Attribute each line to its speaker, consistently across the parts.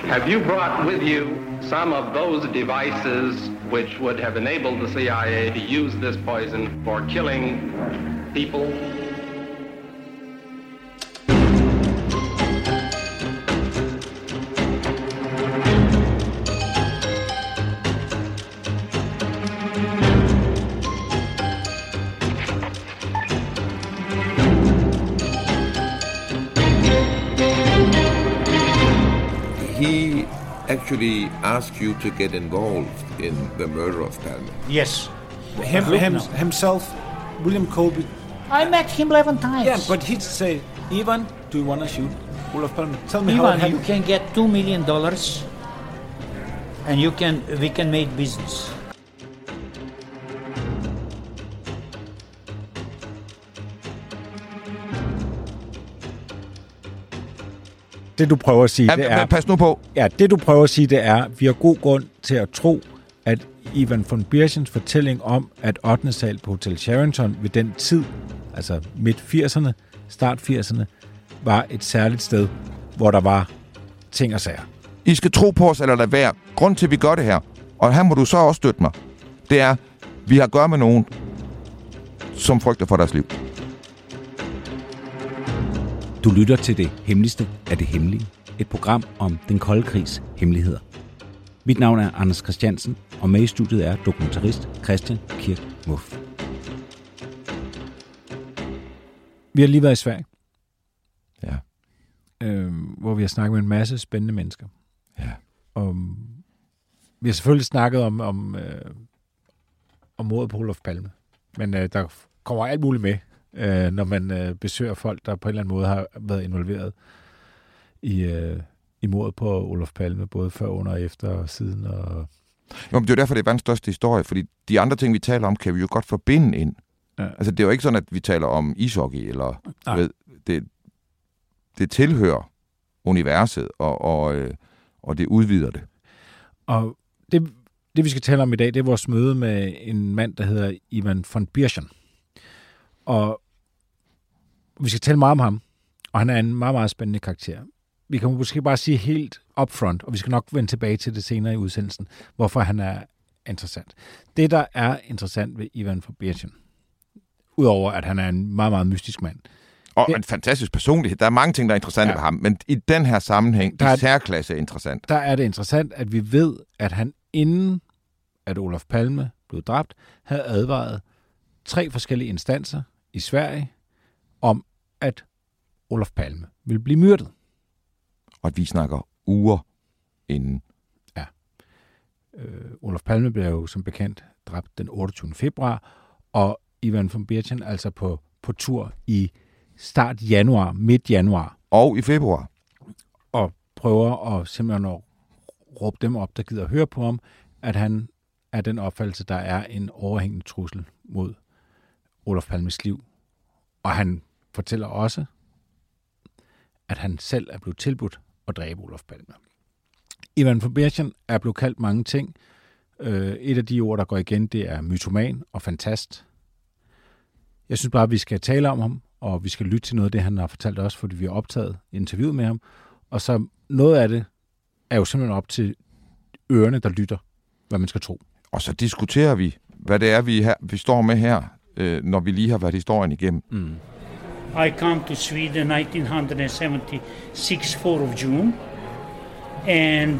Speaker 1: Have you brought with you some of those devices which would have enabled the CIA to use this poison for killing people?
Speaker 2: He actually asked you to get involved in the murder of Palme.
Speaker 3: Yes.
Speaker 4: Himself, William Colby.
Speaker 3: I met him 11 times.
Speaker 4: Yeah, but he'd say, Ivan, do you want to shoot Olof Palme? Tell me
Speaker 3: Ivan,
Speaker 4: how it happened.
Speaker 3: you can get $2 million and we can make business.
Speaker 4: Det du prøver at sige, det er...
Speaker 5: Pas nu på.
Speaker 4: Ja, det du prøver at sige, det er, at vi har god grund til at tro, at Ivan von Birchens fortælling om, at 8. sal på Hotel Sheraton ved den tid, altså midt 80'erne, start 80'erne, var et særligt sted, hvor der var ting og sager.
Speaker 5: I skal tro på os, eller lade være. Grund til, at vi gør det her, og her må du så også støtte mig, det er, vi har at gøre med nogen, som frygter for deres liv.
Speaker 6: Du lytter til det hemmeligste af det hemmelige. Et program om den kolde krigs hemmeligheder. Mit navn er Anders Christiansen, og med i studiet er dokumentarist Christian Kirk Muff.
Speaker 4: Vi har lige været i Sverige.
Speaker 5: Ja.
Speaker 4: Hvor vi har snakket med en masse spændende mennesker.
Speaker 5: Ja.
Speaker 4: Vi har selvfølgelig snakket om mordet på Olof Palme. Men der kommer alt muligt med, når man besøger folk, der på en eller anden måde har været involveret i mordet på Olof Palme, både før, under og efter og siden. Og...
Speaker 5: Jo, men det er jo derfor, det er verdens største historie, fordi de andre ting, vi taler om, kan vi jo godt forbinde ind. Ja. Altså, det er jo ikke sådan, at vi taler om ishockey, eller det tilhører universet, og det udvider det.
Speaker 4: Og det, vi skal tale om i dag, det er vores møde med en mand, der hedder Ivan von Birchen. Og vi skal tale meget om ham, og han er en meget, meget spændende karakter. Vi kan måske bare sige helt upfront, og vi skal nok vende tilbage til det senere i udsendelsen, hvorfor han er interessant. Det, der er interessant ved Ivan von Birchen, udover at han er en meget, meget mystisk mand.
Speaker 5: Og en fantastisk personlighed. Der er mange ting, der er interessante ved ham, men i den her sammenhæng, i særklasse er interessant.
Speaker 4: Der er det interessant, at vi ved, at han inden at Olof Palme blev dræbt, havde advaret 3 forskellige instanser i Sverige om, at Olof Palme ville blive myrdet.
Speaker 5: Og at vi snakker uger inden.
Speaker 4: Ja. Olof Palme blev jo som bekendt dræbt den 28. februar, og Ivan von Birchen altså på tur i start januar, midt januar.
Speaker 5: Og i februar.
Speaker 4: Og prøver at simpelthen at råbe dem op, der gider at høre på ham, at han er den opfattelse, der er en overhængende trussel mod Olof Palmes liv. Og han fortæller også, at han selv er blevet tilbudt at dræbe Olof Palme. Ivan von Birchen er blevet kaldt mange ting. Et af de ord, der går igen, det er mytoman og fantast. Jeg synes bare, at vi skal tale om ham, og vi skal lytte til noget af det, han har fortalt os, fordi vi har optaget interviewet med ham. Og så noget af det er jo simpelthen op til ørerne, der lytter, hvad man skal tro. Og
Speaker 5: så diskuterer vi, hvad det er, vi står med her, når vi lige har været historien igennem.
Speaker 3: Mm. I come to Sweden 1976, 4th of June, and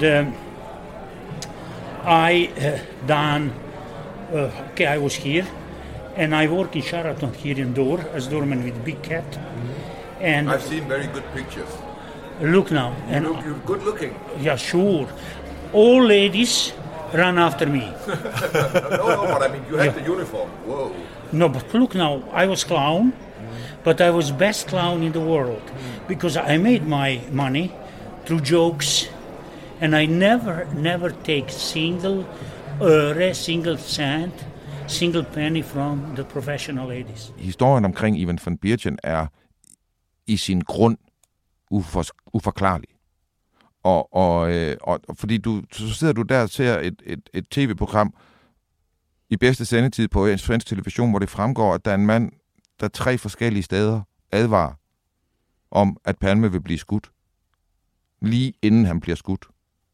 Speaker 3: I was here, and I work in Sheraton here in door as doorman with big cat. And
Speaker 2: I've seen very good pictures.
Speaker 3: Look now.
Speaker 2: You're good looking.
Speaker 3: Yeah, sure. All ladies run after me.
Speaker 2: No, but I mean, you had the uniform. Whoa.
Speaker 3: No, but look now, I was clown, but I was best clown in the world because I made my money through jokes, and I never take single cent, single penny from the professional ladies.
Speaker 5: Historien omkring Ivan von Birchen er i sin grund uforklarlig. Og fordi så sidder du der og ser et tv-program i bedste sendetid på en svensk television, hvor det fremgår, at der er en mand, der 3 forskellige steder advarer om, at Palme vil blive skudt. Lige inden han bliver skudt.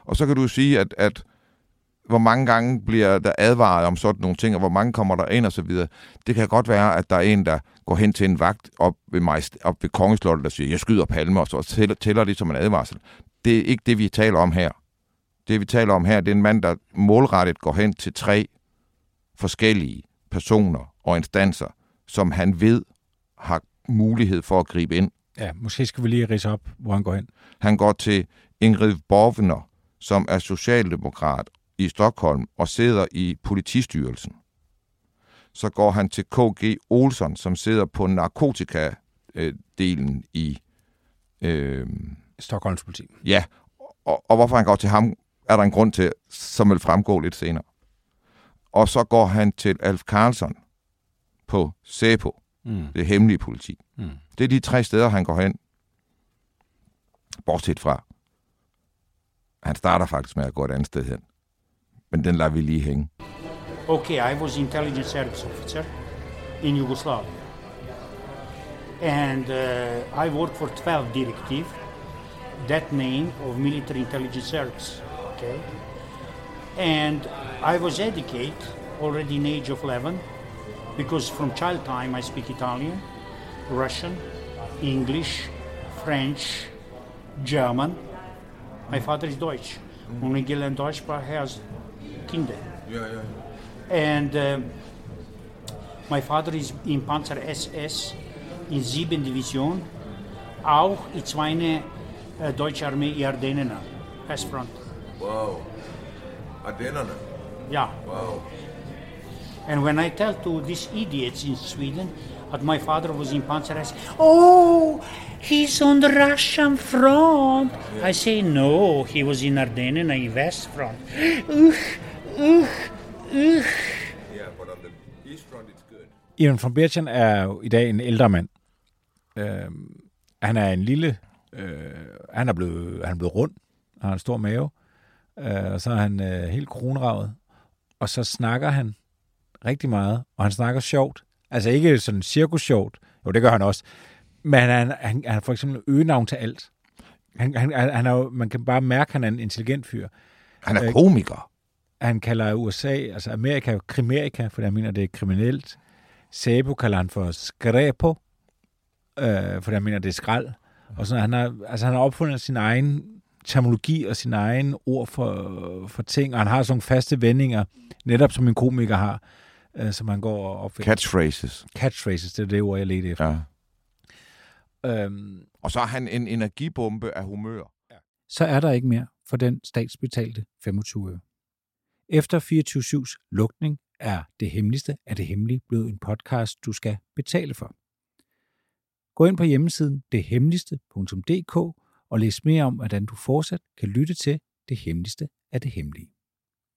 Speaker 5: Og så kan du sige, at hvor mange gange bliver der advaret om sådan nogle ting, og hvor mange kommer der ind og så videre. Det kan godt være, at der er en, der går hen til en vagt op ved Kongeslottet, der siger, jeg skyder Palme, og så tæller det som en advarsel. Det er ikke det, vi taler om her. Det, vi taler om her, det er en mand, der målrettet går hen til 3 forskellige personer og instanser, som han ved har mulighed for at gribe ind.
Speaker 4: Ja, måske skal vi lige ridse op, hvor han går hen.
Speaker 5: Han går til Ingrid Borgner, som er socialdemokrat i Stockholm og sidder i politistyrelsen. Så går han til K.G. Olsson, som sidder på narkotikadelen i
Speaker 4: Stockholms politi.
Speaker 5: Ja, og hvorfor han går til ham, er der en grund til, som vil fremgå lidt senere. Og så går han til Alf Karlsson på SÄPO, det hemmelige politi. Det er de 3 steder, han går hen. Bortset fra, han starter faktisk med at gå et andet sted hen. Men den lader vi lige hænge.
Speaker 3: Okay, I was intelligence service officer in Yugoslavia. And I worked for 12 Directive, that name of military intelligence service. Okay? And I was educated already in age of 11, because from child time I speak Italian, Russian, English, French, German. My father is Deutsch. Only Gillen Deutschsprach has Kinder.
Speaker 2: Yeah.
Speaker 3: And my father is in Panzer SS in 7 Division, auch in 2 Deutsche Armee in Ardennen, Westfront.
Speaker 2: Wow. Ardennerne?
Speaker 3: Yeah.
Speaker 2: Wow.
Speaker 3: And when I tell to these idiots in Sweden that my father was in Panzer SS, oh, he's on the Russian front. Yeah. I say, no, he was in Ardennen in West front.
Speaker 2: Yeah, but on the East front it's good.
Speaker 4: Ivan von Bergen er jo i dag en ældre mand. Han er en lille... han er blevet rund. Han har en stor mave. Og så er han helt kronravet. Og så snakker han rigtig meget. Og han snakker sjovt. Altså ikke sådan cirkus-sjovt. Jo, det gør han også. Men han er for eksempel øgenavn til alt. Han er jo, man kan bare mærke, at han er en intelligent fyr.
Speaker 5: Han er komiker.
Speaker 4: Han kalder USA, altså Amerika, Krimerika, for jeg mener, det er kriminelt. SÄPO kalder han for skræpo, for jeg mener, det er skrald. Og sådan, han har opfundet sin egen terminologi og sin egen ord for ting, og han har sådan nogle faste vendinger, netop som en komiker har, som han går og opfinder. Catchphrases, det er det ord, jeg ledte efter.
Speaker 5: Ja. Og så er han en energibombe af humør.
Speaker 4: Ja. Så er der ikke mere for den statsbetalte 25 øre. Efter 24/7's lukning er Det Hemmeligste af det Hemmelige blevet en podcast, du skal betale for. Gå ind på hjemmesiden dethemmeligste.dk og læs mere om, hvordan du fortsat kan lytte til Det Hemmeligste af det Hemmelige.